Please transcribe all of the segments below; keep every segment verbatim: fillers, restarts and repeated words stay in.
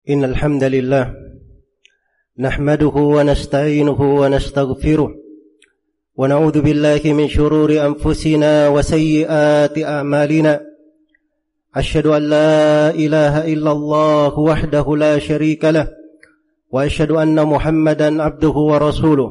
إن الحمد لله نحمده ونستعينه ونستغفره ونعوذ بالله من شرور أنفسنا وسيئات أعمالنا. أشهد أن لا إله إلا الله وحده لا شريك له وأشهد أن محمدا عبده ورسوله.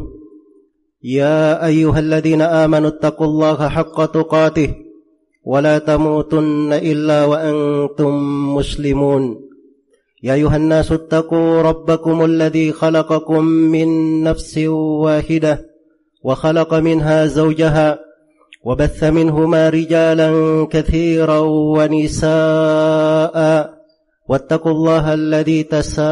يا أيها الذين آمنوا اتقوا الله حق تقاته ولا تموتن إلا وأنتم مسلمون. يا أيها الناس اتقوا ربكم الذي خلقكم من نفس واحدة وخلق منها زوجها وبث منهما رجالا كثيرا ونساء واتقوا الله الذي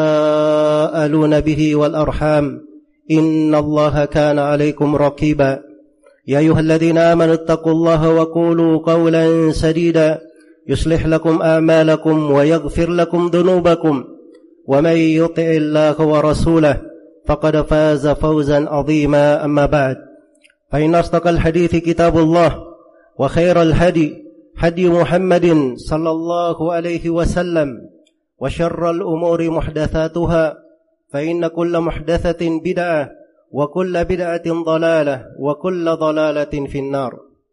تساءلون به والأرحام إن الله كان عليكم رقيبا. يا أيها الذين آمنوا اتقوا الله وقولوا قولا سديدا يصلح لكم أعمالكم ويغفر لكم ذنوبكم ومن يطع الله ورسوله فقد فاز فوزا عظيما. أما بعد فإن أصدق الحديث كتاب الله وخير الهدي هدي محمد صلى الله عليه وسلم وشر الأمور محدثاتها فإن كل محدثة بدعة وكل بدعة ضلالة وكل ضلالة في النار.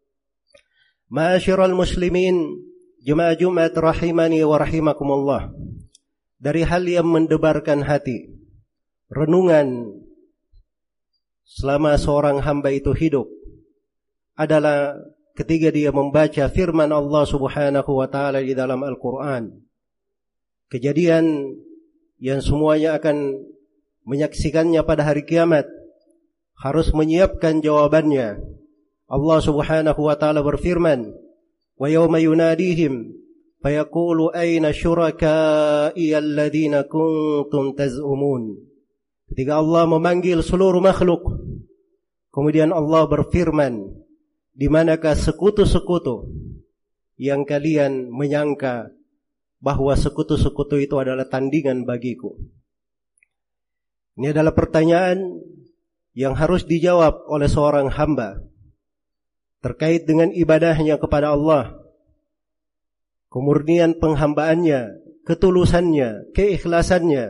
معاشر المسلمين, jemaah Jumat rahimani wa rahimakumullah. Dari hal yang mendebarkan hati, renungan selama seorang hamba itu hidup adalah ketika dia membaca firman Allah Subhanahu wa taala di dalam Al-Qur'an. Kejadian yang semuanya akan menyaksikannya pada hari kiamat, harus menyiapkan jawabannya. Allah Subhanahu wa taala berfirman, wa yawma yunadihim fayaqulu ayna syuraka'i alladhina kuntum taz'umun. Ketika Allah memanggil seluruh makhluk, kemudian Allah berfirman, di manakah sekutu-sekutu yang kalian menyangka bahwa sekutu-sekutu itu adalah tandingan bagiku. Ini adalah pertanyaan yang harus dijawab oleh seorang hamba terkait dengan ibadahnya kepada Allah, kemurnian penghambaannya, ketulusannya, keikhlasannya,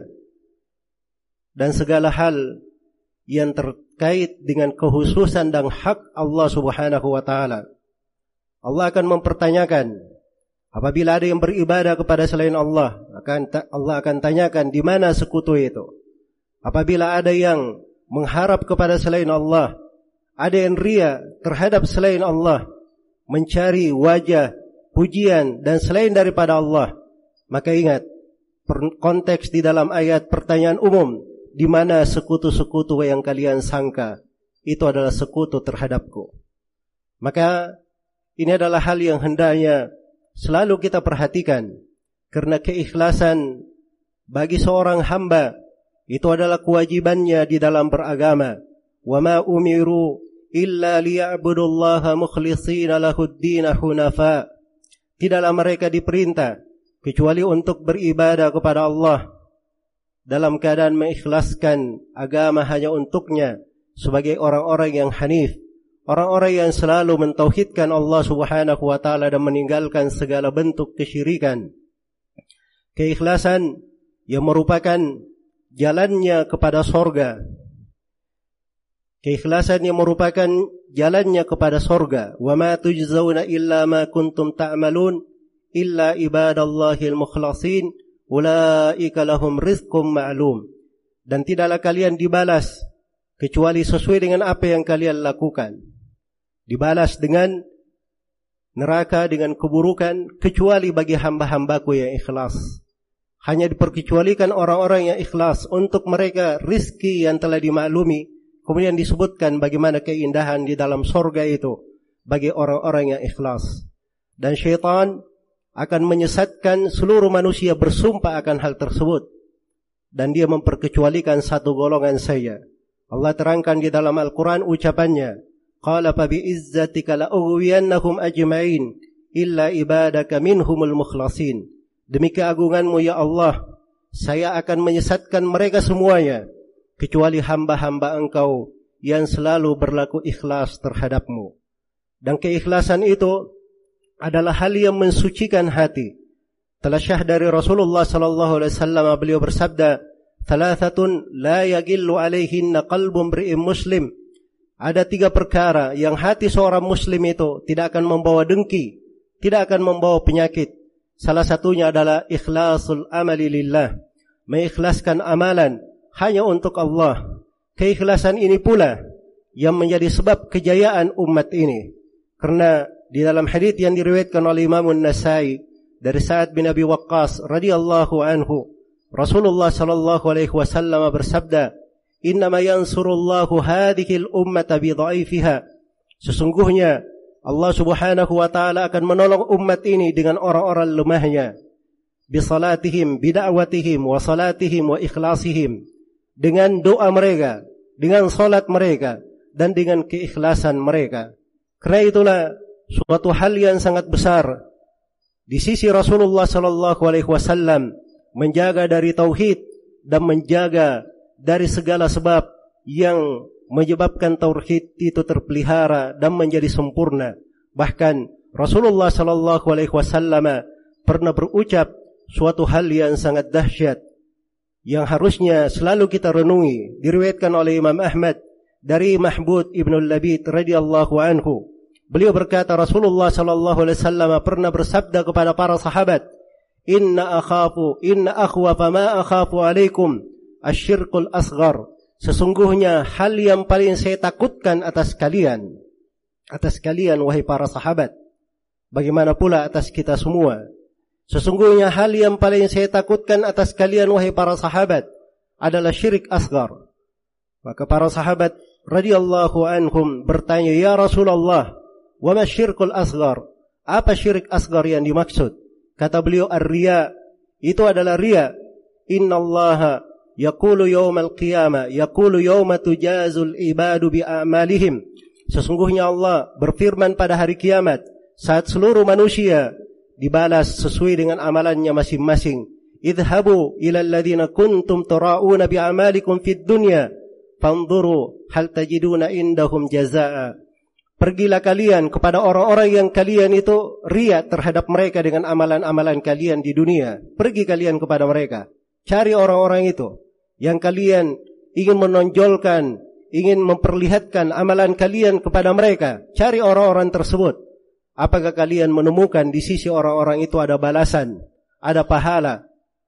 dan segala hal yang terkait dengan kekhususan dan hak Allah Subhanahu wa taala. Allah akan mempertanyakan, apabila ada yang beribadah kepada selain Allah, akan Allah akan tanyakan di mana sekutu itu. Apabila ada yang mengharap kepada selain Allah, ada yang ria terhadap selain Allah, mencari wajah, pujian dan selain daripada Allah, maka ingat konteks di dalam ayat pertanyaan umum, di mana sekutu-sekutu yang kalian sangka itu adalah sekutu terhadapku. Maka ini adalah hal yang hendaknya selalu kita perhatikan, karena keikhlasan bagi seorang hamba itu adalah kewajibannya di dalam beragama. Wa ma umiru illa liya'budullaha mukhlishina lahud-din hunafa. Tidaklah mereka diperintah kecuali untuk beribadah kepada Allah dalam keadaan mengikhlaskan agama hanya untuknya, sebagai orang-orang yang hanif, orang-orang yang selalu mentauhidkan Allah Subhanahu wa taala dan meninggalkan segala bentuk kesyirikan. Keikhlasan yang merupakan jalannya kepada sorga. Keikhlasan yang merupakan jalannya kepada sorga. Wa ma tujzauna illa ma kuntum ta'malun illa ibadallahil mukhlasin ulaika lahum rizqum ma'lum. Dan tidaklah kalian dibalas kecuali sesuai dengan apa yang kalian lakukan. Dibalas dengan neraka, dengan keburukan, kecuali bagi hamba-hambaku yang ikhlas. Hanya diperkecualikan orang-orang yang ikhlas, untuk mereka rizki yang telah dimaklumi. Kemudian disebutkan bagaimana keindahan di dalam sorga itu bagi orang-orang yang ikhlas. Dan syaitan akan menyesatkan seluruh manusia bersumpah akan hal tersebut, dan dia memperkecualikan satu golongan saja. Allah terangkan di dalam Al-Quran ucapannya, qala fa bi'izzatika la'ughwiyannahum ajma'in illa ibadaka minhumul mukhlasin. Demi keagunganmu ya Allah, saya akan menyesatkan mereka semuanya, kecuali hamba-hamba engkau yang selalu berlaku ikhlas terhadapmu. Dan keikhlasan itu adalah hal yang mensucikan hati, Telah syah dari Rasulullah sallallahu alaihi wasallam, beliau bersabda, "Thalathatun la yagillu alaihinna qalbun imri'in muslim." Ada tiga perkara yang hati seorang muslim itu tidak akan membawa dengki, tidak akan membawa penyakit. Salah satunya adalah ikhlasul amali lillah, mengikhlaskan amalan hanya untuk Allah. Keikhlasan ini pula yang menjadi sebab kejayaan umat ini. Karena di dalam hadits yang diriwayatkan oleh Imam An-Nasai dari Sa'ad bin Abi Waqqas radhiyallahu anhu, Rasulullah sallallahu alaihi wasallam bersabda, "Innama yansurullahu hadhil ummata bi dha'ifiha." Sesungguhnya Allah Subhanahu wa taala akan menolong umat ini dengan orang-orang lemahnya. Bi salatihim, bi da'watihim, wa salatihim wa ikhlasihim. Dengan doa mereka, dengan salat mereka, dan dengan keikhlasan mereka. Karena itulah suatu hal yang sangat besar di sisi Rasulullah sallallahu alaihi wasallam, menjaga dari tauhid dan menjaga dari segala sebab yang menyebabkan tauhid itu terpelihara dan menjadi sempurna. Bahkan Rasulullah sallallahu alaihi wasallam pernah berucap suatu hal yang sangat dahsyat yang harusnya selalu kita renungi. Diriwayatkan oleh Imam Ahmad dari Mahbud ibn al-Labid radhiyallahu anhu. Beliau berkata, Rasulullah sallallahu alaihi wasallam pernah bersabda kepada para sahabat, "Inna akhafu, inna akhwafa ma akhafu alaikum asyirkul asghar." Sesungguhnya hal yang paling saya takutkan atas kalian, atas kalian wahai para sahabat, bagaimana pula atas kita semua. Sesungguhnya hal yang paling saya takutkan atas kalian wahai para sahabat adalah syirik asghar. Maka para sahabat radhiyallahu anhum bertanya, "Ya Rasulullah, wa ma syirkul asghar?" Apa syirik asghar yang dimaksud? Kata beliau, "Ar-riya." Itu adalah riya. "Innallaha yaqulu yaumal qiyamah, yaqulu yauma tujazul ibadu bi a'malihim." Sesungguhnya Allah berfirman pada hari kiamat saat seluruh manusia dibalas sesuai dengan amalannya masing-masing. "Idhabu ila alladhina kuntum tura'una bi a'malikum fid dunya fanzuru hal tajiduna indahum jazaa." Pergilah kalian kepada orang-orang yang kalian itu riya terhadap mereka dengan amalan-amalan kalian di dunia. Pergi kalian kepada mereka. Cari orang-orang itu yang kalian ingin menonjolkan, ingin memperlihatkan amalan kalian kepada mereka. Cari orang-orang tersebut. Apakah kalian menemukan di sisi orang-orang itu ada balasan, ada pahala?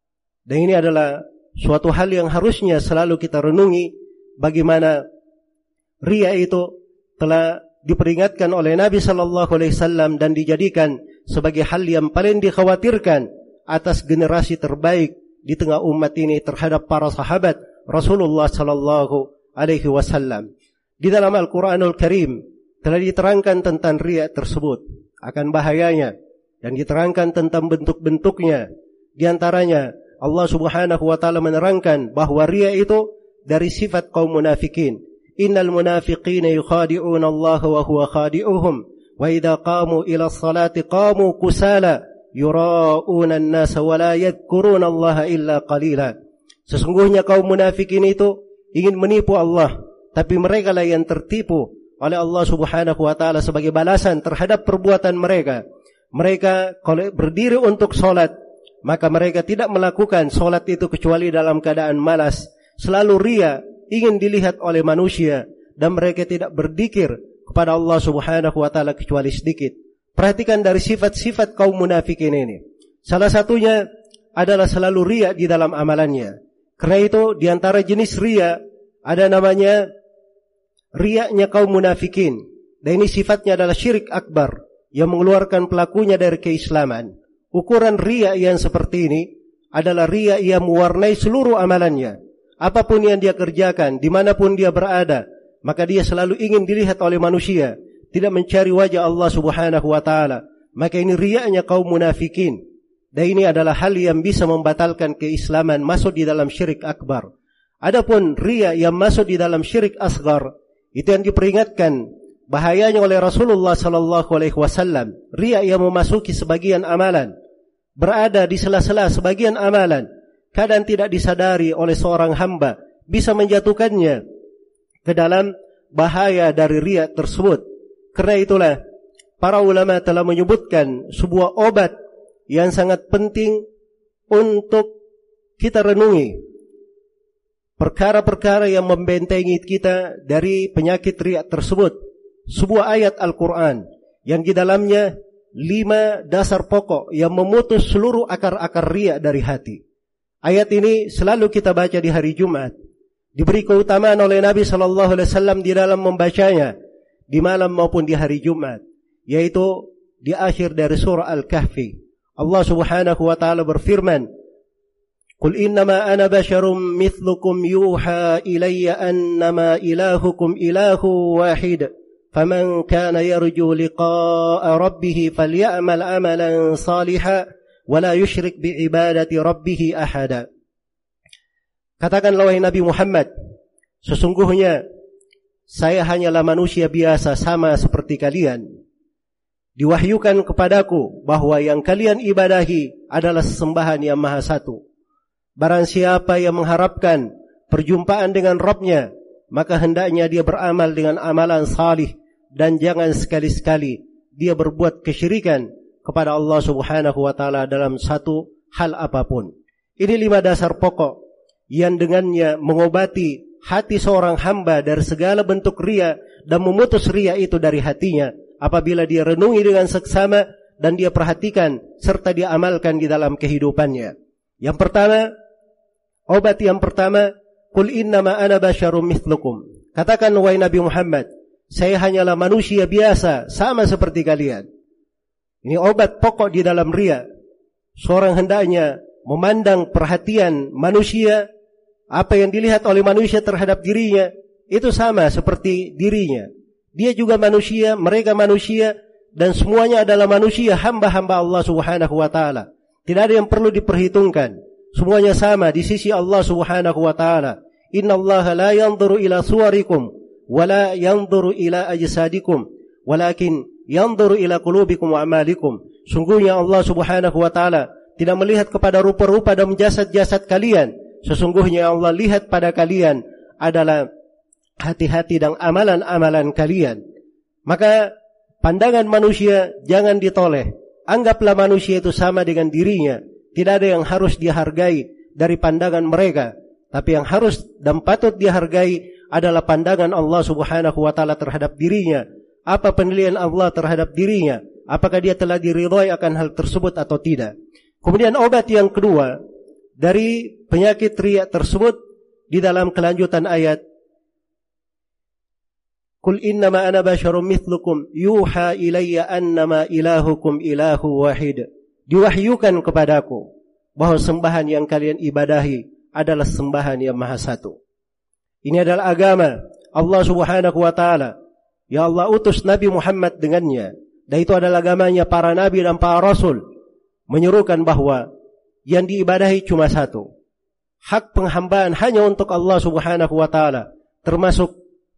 Dan ini adalah suatu hal yang harusnya selalu kita renungi, bagaimana riya itu telah diperingatkan oleh Nabi sallallahu alaihi wasallam dan dijadikan sebagai hal yang paling dikhawatirkan atas generasi terbaik di tengah umat ini terhadap para sahabat Rasulullah sallallahu alaihi wasallam. Di dalam Al-Qur'anul Karim telah diterangkan tentang riya tersebut, akan bahayanya, dan diterangkan tentang bentuk-bentuknya. Di antaranya Allah Subhanahu wa taala menerangkan bahwa riya itu dari sifat kaum munafikin. Innal munafiqina yukhadi'una Allah wa huwa khadi'uhum wa idza qamu ila as-salati qamu kusala yura'una an-nasa wa la yadhkuruna Allah illa qalila. Sesungguhnya kaum munafikin itu ingin menipu Allah, tapi mereka lah yang tertipu oleh Allah Subhanahu wa taala sebagai balasan terhadap perbuatan mereka. Mereka kalau berdiri untuk salat, maka mereka tidak melakukan salat itu kecuali dalam keadaan malas, selalu riya, ingin dilihat oleh manusia, dan mereka tidak berzikir kepada Allah Subhanahu wa taala kecuali sedikit. Perhatikan dari sifat-sifat kaum munafikin ini. Salah satunya adalah selalu riya di dalam amalannya. Karena itu di antara jenis riya ada namanya riyanya kaum munafikin. Dan ini sifatnya adalah syirik akbar yang mengeluarkan pelakunya dari keislaman. Ukuran riya yang seperti ini adalah riya yang mewarnai seluruh amalannya. Apapun yang dia kerjakan, dimanapun dia berada, maka dia selalu ingin dilihat oleh manusia, tidak mencari wajah Allah Subhanahu wa taala. Maka ini riyanya kaum munafikin. Dan ini adalah hal yang bisa membatalkan keislaman, masuk di dalam syirik akbar. Adapun riya yang masuk di dalam syirik asghar, itu yang diperingatkan bahayanya oleh Rasulullah sallallahu alaihi wasallam. Riya yang memasuki sebagian amalan, berada di sela-sela sebagian amalan, kadang tidak disadari oleh seorang hamba, bisa menjatuhkannya ke dalam bahaya dari riya tersebut. Karena itulah para ulama telah menyebutkan sebuah obat yang sangat penting untuk kita renungi. Perkara-perkara yang membentengi kita dari penyakit riya tersebut. Sebuah ayat Al-Quran yang di dalamnya lima dasar pokok yang memutus seluruh akar-akar riya dari hati. Ayat ini selalu kita baca di hari Jumat. Diberi keutamaan oleh Nabi Sallallahu Alaihi Wasallam di dalam membacanya di malam maupun di hari Jumat, yaitu di akhir dari surah Al-Kahfi. Allah Subhanahu wa taala berfirman, "Qul innama ana basyarum mithlukum yuha ilayya annama ilahukum ilahu wahid, faman kana yarju liqa'a rabbih falyamal amalan salihan wa la yusyrik bi'ibadati rabbih ahada." Katakanlah wahai Nabi Muhammad, sesungguhnya saya hanyalah manusia biasa sama seperti kalian. Diwahyukan kepadaku bahwa yang kalian ibadahi adalah sesembahan yang maha satu. Barang siapa yang mengharapkan perjumpaan dengan Rabbnya, maka hendaknya dia beramal dengan amalan salih dan jangan sekali-sekali dia berbuat kesyirikan kepada Allah Subhanahu wa taala dalam satu hal apapun. Ini lima dasar pokok yang dengannya mengobati hati seorang hamba dari segala bentuk riya dan memutus riya itu dari hatinya apabila dia renungi dengan seksama dan dia perhatikan serta dia amalkan di dalam kehidupannya. Yang pertama, obat yang pertama, qul innama ana basyarum mithlukum. Katakan wahai Nabi Muhammad, saya hanyalah manusia biasa sama seperti kalian. Ini obat pokok di dalam riya. Seorang hendaknya memandang perhatian manusia, apa yang dilihat oleh manusia terhadap dirinya itu sama seperti dirinya. Dia juga manusia, mereka manusia, dan semuanya adalah manusia, hamba-hamba Allah Subhanahu wa taala. Tidak ada yang perlu diperhitungkan. Semuanya sama di sisi Allah Subhanahu wa taala. Innallaha la yanzuru ila suwarikum wa la yanzuru ila ajsadikum, walakin yanzuru ila qulubikum wa amalikum. Sungguhnya Allah Subhanahu wa taala tidak melihat kepada rupa-rupa dan jasad-jasad kalian. Sesungguhnya Allah lihat pada kalian adalah hati-hati dan amalan-amalan kalian. Maka pandangan manusia jangan ditoleh. Anggaplah manusia itu sama dengan dirinya. Tidak ada yang harus dihargai dari pandangan mereka. Tapi yang harus dan patut dihargai adalah pandangan Allah Subhanahu wa taala terhadap dirinya. Apa penilaian Allah terhadap dirinya? Apakah dia telah diridhai akan hal tersebut atau tidak? Kemudian obat yang kedua dari penyakit riya tersebut di dalam kelanjutan ayat, Qul innama ana basyarum mithlukum yuha ilayya annama ilahukum ilahu wahid. Diwahyukan kepadaku bahwa sembahan yang kalian ibadahi adalah sembahan yang maha satu. Ini adalah agama Allah Subhanahu wa taala. Ya Allah utus Nabi Muhammad dengannya. Dan itu adalah agamanya para nabi dan para rasul. Menyerukan bahwa yang diibadahi cuma satu. Hak penghambaan hanya untuk Allah Subhanahu wa taala. Termasuk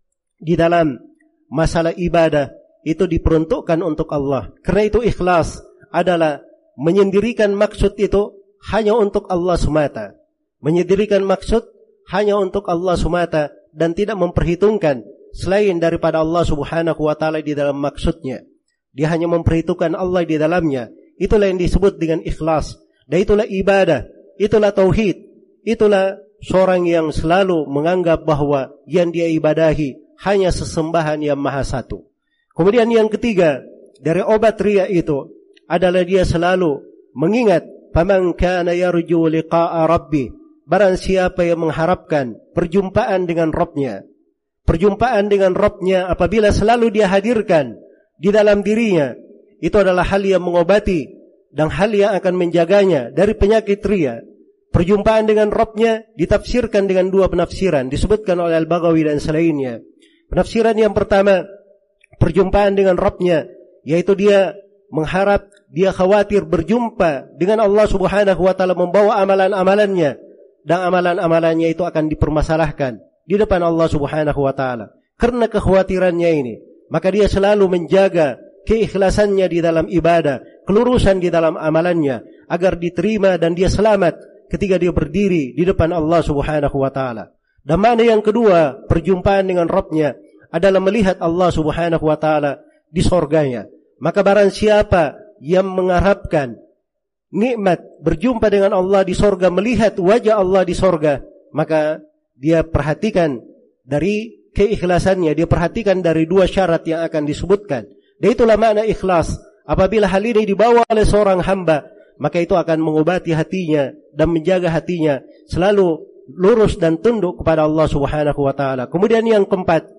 di dalam masalah ibadah itu diperuntukkan untuk Allah. Karena itu ikhlas adalah menyendirikan maksud itu hanya untuk Allah semata. Menyendirikan maksud hanya untuk Allah semata dan tidak memperhitungkan selain daripada Allah Subhanahu wa taala di dalam maksudnya. Dia hanya memperhitungkan Allah di dalamnya. Itulah yang disebut dengan ikhlas. Dan itulah ibadah, itulah tauhid. Itulah seorang yang selalu menganggap bahwa yang dia ibadahi hanya sesembahan yang maha satu. Kemudian yang ketiga dari obat riya itu adalah dia selalu mengingat faman kana yarju liqa'a rabbih. Barang siapa yang mengharapkan perjumpaan dengan Rabbnya. Perjumpaan dengan Rabbnya apabila selalu dia hadirkan di dalam dirinya, itu adalah hal yang mengobati dan hal yang akan menjaganya dari penyakit riya. Perjumpaan dengan Rabbnya ditafsirkan dengan dua penafsiran, disebutkan oleh Al-Baghawi dan selainnya. Penafsiran yang pertama, perjumpaan dengan Rabbnya, yaitu dia mengharap, dia khawatir berjumpa dengan Allah Subhanahu wa taala membawa amalan-amalannya, dan amalan-amalannya itu akan dipermasalahkan di depan Allah Subhanahu wa taala. Karena kekhawatirannya ini, maka dia selalu menjaga keikhlasannya di dalam ibadah, kelurusan di dalam amalannya, agar diterima dan dia selamat ketika dia berdiri di depan Allah Subhanahu wa taala. Dan makna yang kedua, perjumpaan dengan Rabbnya adalah melihat Allah Subhanahu wa taala di surganya. Maka barang siapa yang mengharapkan nikmat berjumpa dengan Allah di sorga, melihat wajah Allah di sorga, maka dia perhatikan dari keikhlasannya, dia perhatikan dari dua syarat yang akan disebutkan. Dan itulah makna ikhlas. Apabila hal ini dibawa oleh seorang hamba, maka itu akan mengobati hatinya dan menjaga hatinya selalu lurus dan tunduk kepada Allah Subhanahu wa taala. Kemudian yang keempat,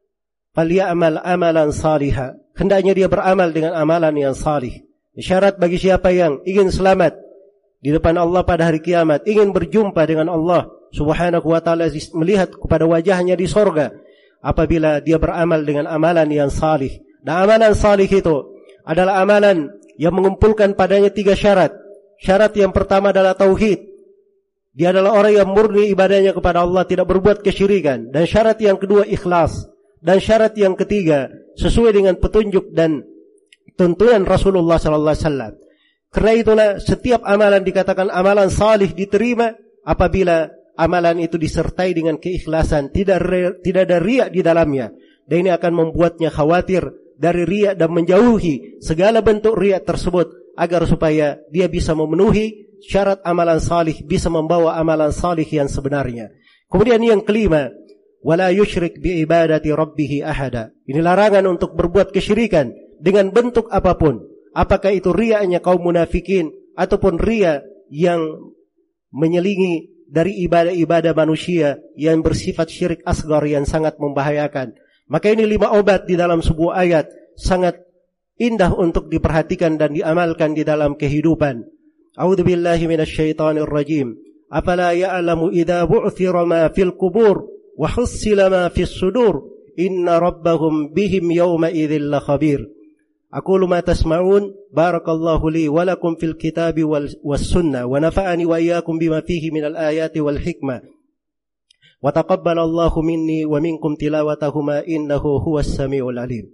falyamal amalan salihah. Hendaknya dia beramal dengan amalan yang salih. Syarat bagi siapa yang ingin selamat di depan Allah pada hari kiamat, ingin berjumpa dengan Allah Subhanahu wa taala, melihat kepada wajahnya di sorga, apabila dia beramal dengan amalan yang salih. Dan amalan salih itu adalah amalan yang mengumpulkan padanya tiga syarat. Syarat yang pertama adalah tauhid. Dia adalah orang yang murni ibadahnya kepada Allah, tidak berbuat kesyirikan. Dan syarat yang kedua ikhlas. Dan syarat yang ketiga sesuai dengan petunjuk dan tuntunan Rasulullah sallallahu alaihi wasallam. Karena itulah setiap amalan dikatakan amalan salih diterima apabila amalan itu disertai dengan keikhlasan, tidak tidak ada riya di dalamnya. Dan ini akan membuatnya khawatir dari riya dan menjauhi segala bentuk riya tersebut, agar supaya dia bisa memenuhi syarat amalan salih, bisa membawa amalan salih yang sebenarnya. Kemudian yang kelima, wala yusyrik bi ibadati rabbih ahada. Ini larangan untuk berbuat kesyirikan dengan bentuk apapun. Apakah itu riyanya kaum munafikin ataupun riya yang menyelingi dari ibadah-ibadah manusia yang bersifat syirik asgar yang sangat membahayakan. Maka ini lima obat di dalam sebuah ayat sangat indah untuk diperhatikan dan diamalkan di dalam kehidupan. A'udzubillahi minasyaitonir rajim. Afala ya'lamu idza bu'thira ma fil qubur wa hussila ma fis sudur inna rabbahum bihim yawma idzil lakhabir. Aqulu ma tasma'un, barakallahu li wa lakum fil kitabi was sunnah wa nafa'ani wa iyyakum bima fihi minal ayati wal hikmah. Wa taqabbalallahu minni wa minkum tilawatahuma innahu huwas samiul alim.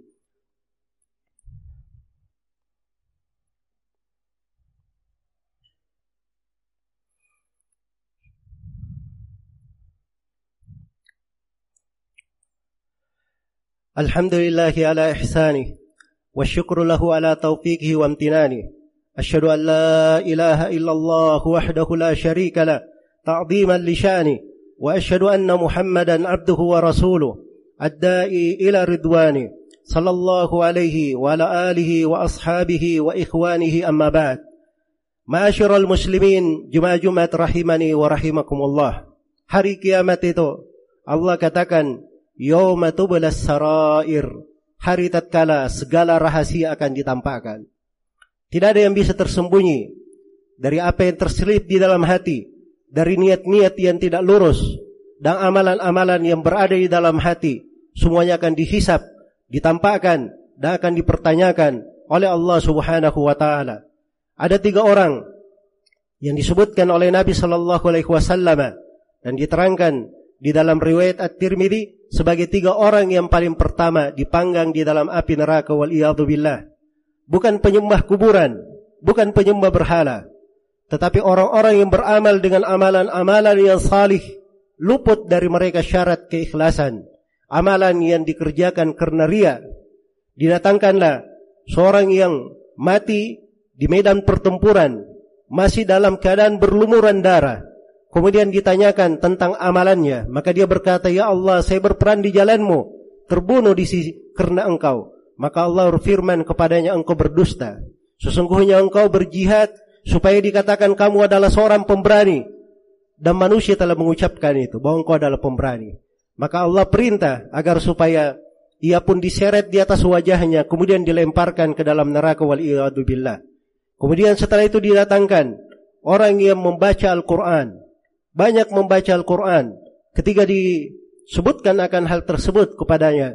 Alhamdulillahi ala ihsanih wa syukru lahu ala taufiqihi wa amtinani. Asyhadu an la ilaha illallah wahdahu la syarika lah ta'ziman li sya'ni wa asyhadu anna Muhammadan abduhu wa rasuluh ad-da'i ila ridwani sallallahu alaihi wa ala alihi wa ashabihi wa ikhwanihi amma ba'd. Ma'asyiral muslimin, jumat-jumat rahimani wa rahimakumullah. Hari kiamat itu Allah katakan yauma tublas sarair, hari tatkala segala rahasia akan ditampakkan. Tidak ada yang bisa tersembunyi dari apa yang terselip di dalam hati, dari niat-niat yang tidak lurus dan amalan-amalan yang berada di dalam hati. Semuanya akan dihisap, ditampakkan dan akan dipertanyakan oleh Allah Subhanahu wa taala. Ada tiga orang yang disebutkan oleh Nabi sallallahu alaihi wasallam dan diterangkan di dalam riwayat At-Tirmidzi sebagai tiga orang yang paling pertama dipanggang di dalam api neraka wal iyadzu billah. Bukan penyembah kuburan, bukan penyembah berhala, tetapi orang-orang yang beramal dengan amalan-amalan yang salih, luput dari mereka syarat keikhlasan, amalan yang dikerjakan karena riya. Didatangkanlah seorang yang mati di medan pertempuran, masih dalam keadaan berlumuran darah. Kemudian ditanyakan tentang amalannya, maka dia berkata, ya Allah, saya berperan di jalanmu, terbunuh di sisi karena engkau. Maka Allah berfirman kepadanya, engkau berdusta. Sesungguhnya engkau berjihad supaya dikatakan kamu adalah seorang pemberani. Dan manusia telah mengucapkan itu, bahwa engkau adalah pemberani. Maka Allah perintah agar supaya ia pun diseret di atas wajahnya, kemudian dilemparkan ke dalam neraka wal'iyadu billah. Kemudian setelah itu didatangkan orang yang membaca Al-Quran, banyak membaca Al-Quran. Ketika disebutkan akan hal tersebut kepadanya,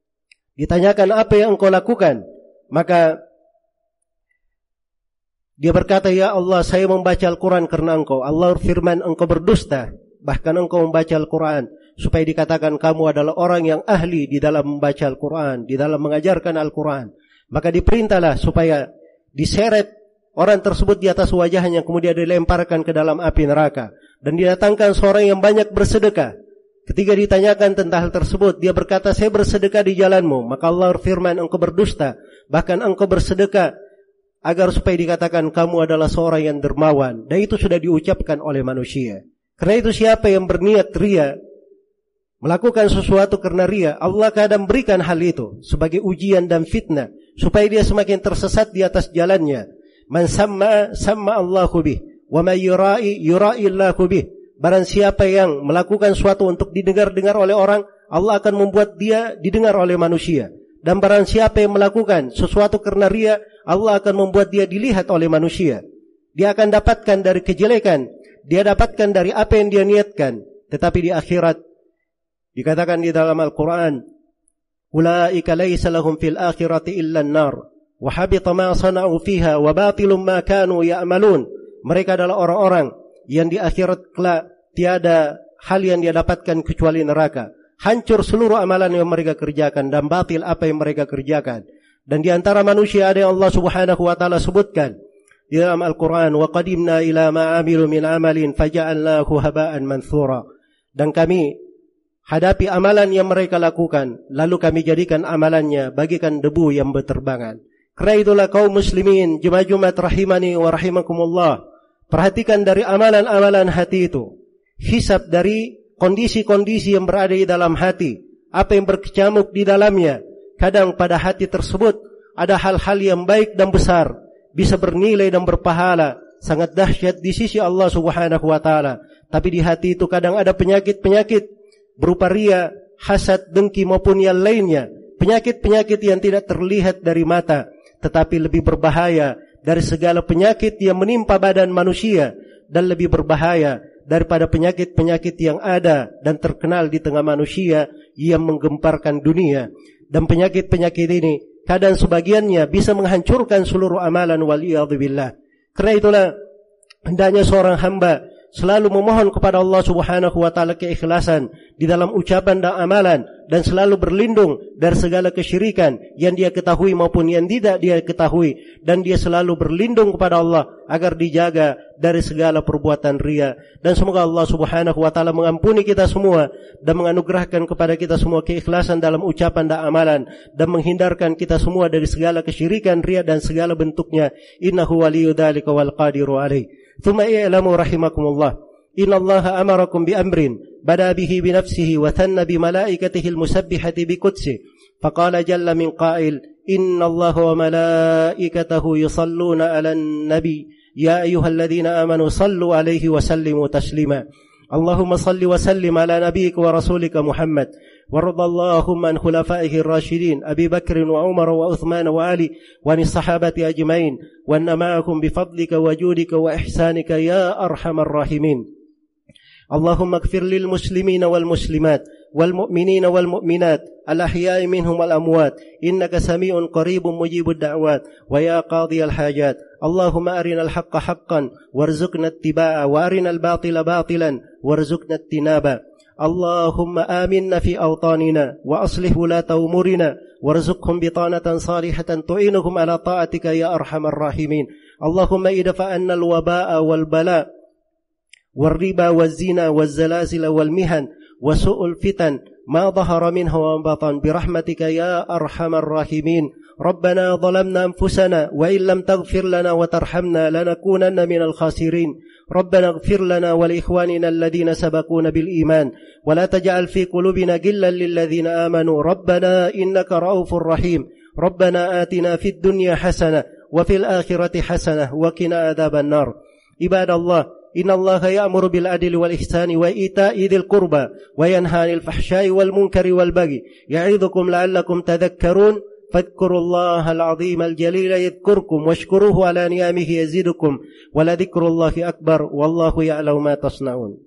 ditanyakan apa yang engkau lakukan, maka dia berkata, ya Allah, saya membaca Al-Quran karena engkau. Allah firman, engkau berdusta, bahkan engkau membaca Al-Quran supaya dikatakan kamu adalah orang yang ahli di dalam membaca Al-Quran, di dalam mengajarkan Al-Quran. Maka diperintahlah supaya diseret orang tersebut di atas wajahnya, kemudian dilemparkan ke dalam api neraka. Dan didatangkan seorang yang banyak bersedekah. Ketika ditanyakan tentang hal tersebut, dia berkata, saya bersedekah di jalanmu. Maka Allah firman, engkau berdusta, bahkan engkau bersedekah agar supaya dikatakan kamu adalah seorang yang dermawan, dan itu sudah diucapkan oleh manusia. Karena itu siapa yang berniat ria, melakukan sesuatu karena ria, Allah kadang berikan hal itu sebagai ujian dan fitnah supaya dia semakin tersesat di atas jalannya. Man samma samma Allahu bih, wa may yura'i yura'i Allahu bih. Barang siapa yang melakukan sesuatu untuk didengar-dengar oleh orang, Allah akan membuat dia didengar oleh manusia. Dan barang siapa yang melakukan sesuatu karena ria, Allah akan membuat dia dilihat oleh manusia. Dia akan dapatkan dari kejelekan, dia dapatkan dari apa yang dia niatkan. Tetapi di akhirat dikatakan di dalam Al-Quran, ulaika laysa lahum fil akhirati illa an-nar wa habita ma sana'u fiha wa batilum ma kanu ya'malun. Mereka adalah orang-orang yang di akhirat kelak tiada hal yang dia dapatkan kecuali neraka. Hancur seluruh amalan yang mereka kerjakan dan batil apa yang mereka kerjakan. Dan di antara manusia ada yang Allah Subhanahu wa taala sebutkan di dalam Al-Quran, wa qadimna ila ma 'amilu min amalin faja'alnahu haba'an manthura. Dan kami hadapi amalan yang mereka lakukan, lalu kami jadikan amalannya bagikan debu yang berterbangan. Karena itulah kaum muslimin, jemaah-jemaah rahimani wa rahimakumullah, perhatikan dari amalan-amalan hati itu, hisab dari kondisi-kondisi yang berada di dalam hati, apa yang berkecamuk di dalamnya. Kadang pada hati tersebut ada hal-hal yang baik dan besar, bisa bernilai dan berpahala, sangat dahsyat di sisi Allah Subhanahu wa taala. Tapi di hati itu kadang ada penyakit-penyakit berupa ria, hasad, dengki maupun yang lainnya. Penyakit-penyakit yang tidak terlihat dari mata, tetapi lebih berbahaya dari segala penyakit yang menimpa badan manusia, dan lebih berbahaya daripada penyakit-penyakit yang ada dan terkenal di tengah manusia yang menggemparkan dunia. Dan penyakit-penyakit ini kadang sebagiannya bisa menghancurkan seluruh amalan, waliyadzubillah. Karena itulah hendaknya seorang hamba selalu memohon kepada Allah Subhanahu wa taala keikhlasan di dalam ucapan dan amalan, dan selalu berlindung dari segala kesyirikan yang dia ketahui maupun yang tidak dia ketahui, dan dia selalu berlindung kepada Allah agar dijaga dari segala perbuatan ria. Dan semoga Allah Subhanahu wa taala mengampuni kita semua dan menganugerahkan kepada kita semua keikhlasan dalam ucapan dan amalan, dan menghindarkan kita semua dari segala kesyirikan, ria dan segala bentuknya. Innahu waliyyu dzalika wal qadiru alaih. ثم اعلموا رحمكم الله إن الله أمركم بأمر بدأ به بنفسه وثنى بملائكته المسبحة بقدسه فقال جل من قائل إن الله وملائكته يصلون على النبي يا أيها الذين آمنوا صلوا عليه وسلموا تسليما اللهم صل وسلم على نبيك ورسولك محمد وارض اللهم عن خلفائه الراشدين أبي بكر وعمر وعثمان وعلي وعن الصحابة أجمعين وأن معهم بفضلك وجودك وإحسانك يا أرحم الراحمين اللهم اغفر للمسلمين والمسلمات والمؤمنين والمؤمنات الأحياء منهم والأموات إنك سميع قريب مجيب الدعوات ويا قاضي الحاجات اللهم أرنا الحق حقا وارزقنا اتباعه وأرنا الباطل باطلا وارزقنا اجتنابه اللهم آمنا في أوطاننا وأصلح ولاة أمورنا وارزقهم بطانة صالحة تعينهم على طاعتك يا أرحم الراحمين اللهم ادفع عنا الوباء والبلاء والربا والزنا والزلازل والمهن وسوء الفتن ما ظهر منها وما بطن برحمتك يا أرحم الراحمين ربنا ظلمنا أنفسنا وإن لم تغفر لنا وترحمنا لنكونن من الخاسرين ربنا اغفر لنا ولإخواننا الذين سبقونا بالإيمان ولا تجعل في قلوبنا غلا للذين آمنوا ربنا إنك رؤوف رحيم ربنا آتنا في الدنيا حسنة وفي الآخرة حسنة وقنا عذاب النار عباد الله إن الله يأمر بالعدل والإحسان وإيتاء ذي القربى وينهى عن الفحشاء والمنكر والبغي يعظكم لعلكم تذكرون فاذكروا الله العظيم الجليل يذكركم واشكروه على نعمه يزدكم ولذكر الله أكبر والله يعلم ما تصنعون